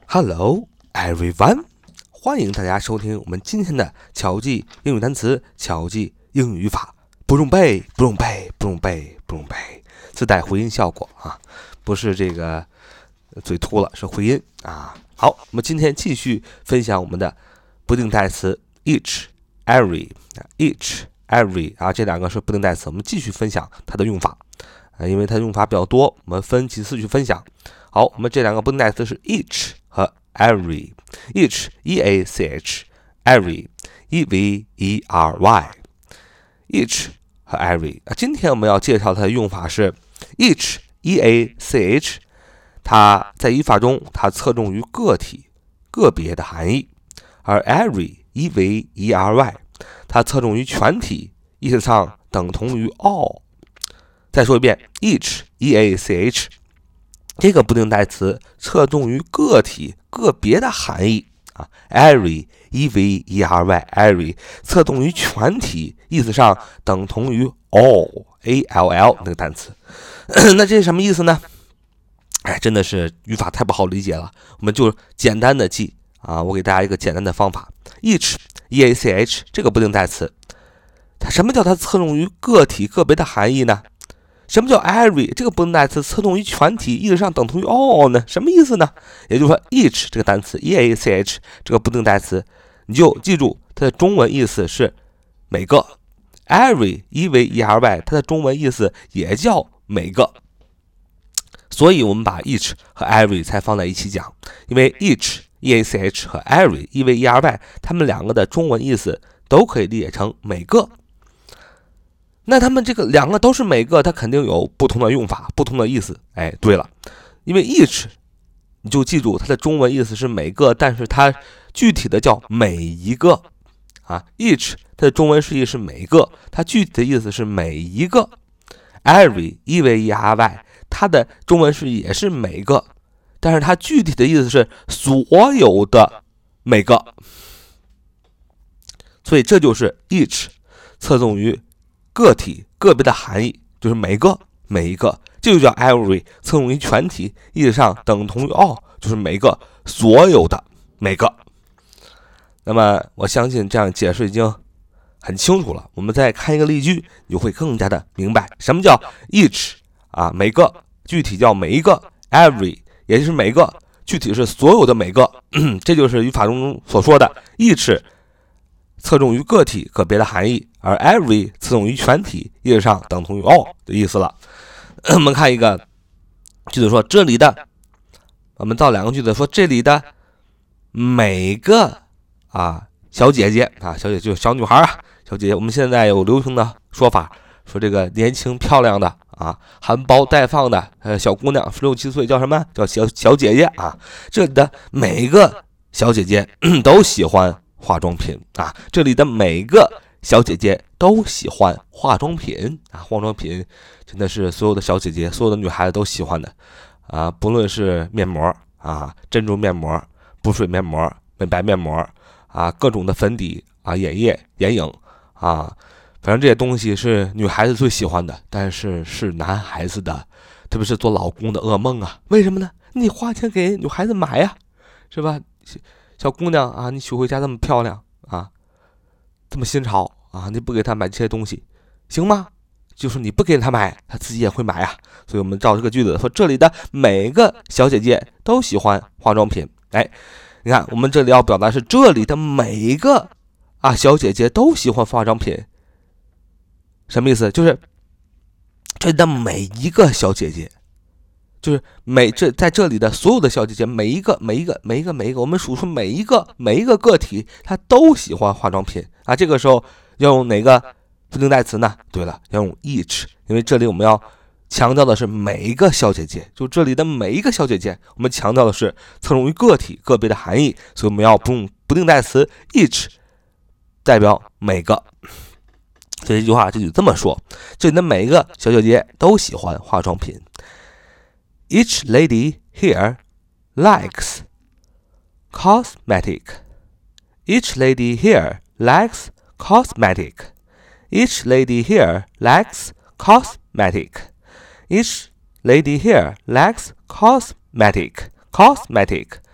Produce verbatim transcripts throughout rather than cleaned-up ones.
Hello, everyone！ 欢迎大家收听我们今天的巧记英语单词、巧记英语语法。不用背，不用背，不用背，不用背，自带回音效果啊，不是这个嘴秃了，是回音啊。好，我们今天继续分享我们的不定代词 each、every、each、every 啊，这两个是不定代词，我们继续分享它的用法啊，因为它的用法比较多，我们分几次去分享。好，我们这两个不定代词是 each 和 every。each e a c h every e v e r y each 和 every 啊，今天我们要介绍它的用法是 each e a c h， 它在语法中它侧重于个体个别的含义，而 every e v e r y 它侧重于全体，意思上等同于 all。再说一遍 each e a c h，这个不定代词侧重于个体个别的含义啊 ，every e v e r y every 侧重于全体，意思上等同于 all a l l 那个单词。那这是什么意思呢？哎，真的是语法太不好理解了，我们就简单的记啊，我给大家一个简单的方法 ，each e a c h 这个不定代词，它什么叫它侧重于个体个别的含义呢？什么叫 every 这个不定代词侧重于全体，意思上等同于 all 呢？什么意思呢？也就是说 each 这个单词 e a c h 这个不定代词，你就记住它的中文意思是每个， every e v e r y 它的中文意思也叫每个，所以我们把 each 和 every 才放在一起讲，因为 each e a c h 和 every e v e r y 它们两个的中文意思都可以理解成每个。那他们这个两个都是每个，它肯定有不同的用法，不同的意思。哎，对了，因为 each 你就记住它的中文意思是每个，但是它具体的叫每一个啊。each 它的中文释义是每个，它具体的意思是每一个。every e v e r y 它的中文释义也是每个，但是它具体的意思是所有的每个。所以这就是 each 侧重于个体个别的含义，就是每个每一个，这就叫 every 侧重于全体，意思上等同于 all， 就是每个所有的每个。那么我相信这样解释已经很清楚了，我们再看一个例句，你就会更加的明白什么叫 each 啊，每个具体叫每一个， every 也就是每个具体是所有的每个。这就是语法中所说的 each 侧重于个体个别的含义，而 every 侧重于全体，意思上等同于 all 的意思了。我们看一个句子说，这里的，我们造两个句子说，这里的每个啊小姐姐啊，小姐姐就是小女孩啊，小姐姐，我们现在有流行的说法，说这个年轻漂亮的啊，含苞待放的呃小姑娘，十六七岁叫什么？叫小小姐姐啊。这里的每个小姐姐都喜欢化妆品啊，这里的每个小姐姐都喜欢化妆品啊，化妆品真的是所有的小姐姐、所有的女孩子都喜欢的啊，不论是面膜啊、珍珠面膜、补水面膜、美白面膜啊，各种的粉底啊、眼液、眼影啊，反正这些东西是女孩子最喜欢的，但是是男孩子的，特别是做老公的噩梦啊。为什么呢？你花钱给女孩子买呀，是吧？小姑娘啊，你娶回家这么漂亮啊，这么新潮啊，你不给她买这些东西行吗？就是你不给她买，她自己也会买啊。所以我们照这个句子说，这里的每个小姐姐都喜欢化妆品。哎，你看我们这里要表达是这里的每一个啊小姐姐都喜欢化妆品，什么意思？就是这里的每一个小姐姐，就是每这在这里的所有的小姐姐，每一个每一个每一个每一个，我们数出每一个每一个个体，她都喜欢化妆品啊。这个时候要用哪个不定代词呢？对了，要用 each， 因为这里我们要强调的是每一个小姐姐，就这里的每一个小姐姐，我们强调的是侧重于个体个别的含义，所以我们要用不定代词 each 代表每个。所以这句话就这么说，这里的每一个小姐姐都喜欢化妆品。Each lady here likes cosmetic. Each lady here likes cosmetic. Each lady here likes cosmetic. Each lady here likes cosmetic. Cosmetic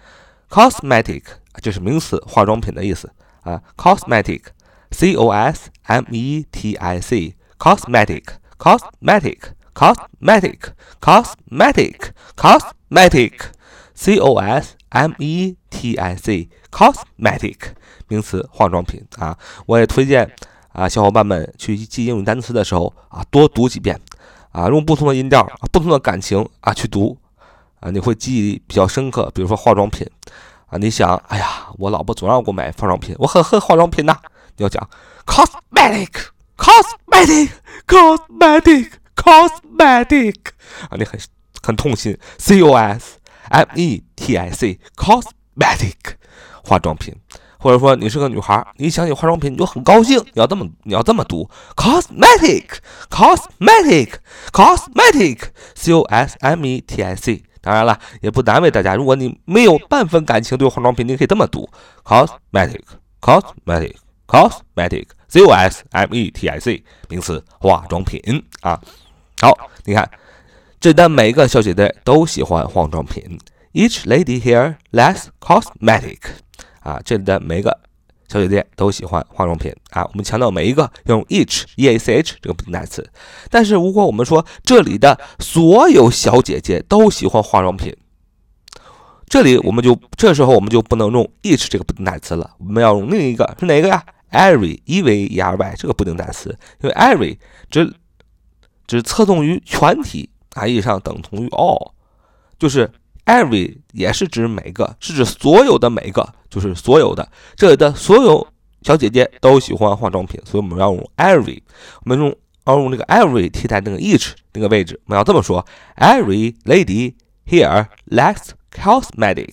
cosmetic 这是名词，化妆品的意思啊 ，cosmetic C O S M E T I C cosmetic cosmetic cosmetic cosmetic cosmetic C O S M E T I C cosmetic 名词，化妆品啊。我也推荐啊小伙伴们去记英语单词的时候啊多读几遍啊，用不同的音调、啊、不同的感情啊去读啊，你会记忆比较深刻。比如说化妆品啊，你想，哎呀，我老婆总让我买化妆品，我很恨化妆品呐、啊。你要讲 cosmetic cosmetic cosmetic cosmetic 啊，你很很痛心 C O S M E T I C cosmetic 化妆品。或者说你是个女孩，你想起化妆品你就很高兴，你要这么你要这么读 cosmetic cosmetic cosmetic C O S M E T I C。 当然了，也不难为大家，如果你没有半分感情对化妆品，你可以这么读 cosmetic cosmetic cosmetic C O S M E T I C 名词，化妆品啊。好，你看这里的每个小姐姐都喜欢化妆品 ，Each lady here likes cosmetic。啊，这里的每一个小姐姐都喜欢化妆品啊。我们强调每一个用 each e a c h 这个不定代词，但是如果我们说这里的所有小姐姐都喜欢化妆品，这里我们就这时候我们就不能用 each 这个不定代词了，我们要用另一个是哪个呀 ？every e v e r y 这个不定代词，因为 every 只只侧重于全体啊，意义上等同于 all， 就是。every 也是指每个，是指所有的每个，就是所有的。这里的所有小姐姐都喜欢化妆品，所以我们要用 every， 我们用要用这个 every 替代那个 each 那个位置，我们要这么说 ：Every lady here likes cosmetic.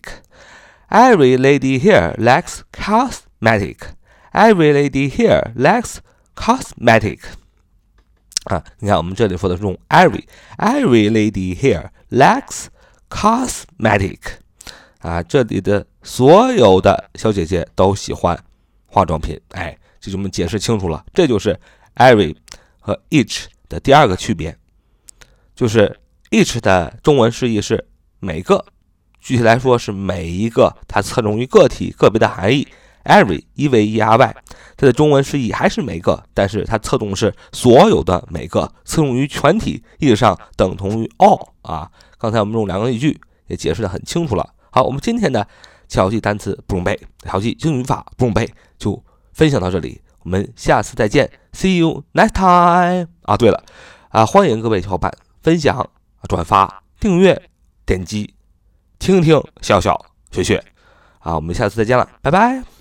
Every lady here likes cosmetic. Every lady here likes cosmetic. 啊，你看我们这里说的是用 every，every lady here likes cosmetic 啊，这里的所有的小姐姐都喜欢化妆品，哎，这就我们解释清楚了。这就是 every 和 each 的第二个区别，就是 each 的中文释义是每个，具体来说是每一个，它侧重于个体个别的含义。every e v e r y 它的中文释义还是每个，但是它侧重是所有的每个，侧重于全体，意义上等同于 all 啊。刚才我们用两个例句也解释得很清楚了。好，我们今天的巧记单词不用背，巧记英语法不用背，就分享到这里，我们下次再见 ，See you next time。啊，对了，啊，欢迎各位小伙伴分享、转发、订阅、点击、听听、笑笑、学学。啊，我们下次再见了，拜拜。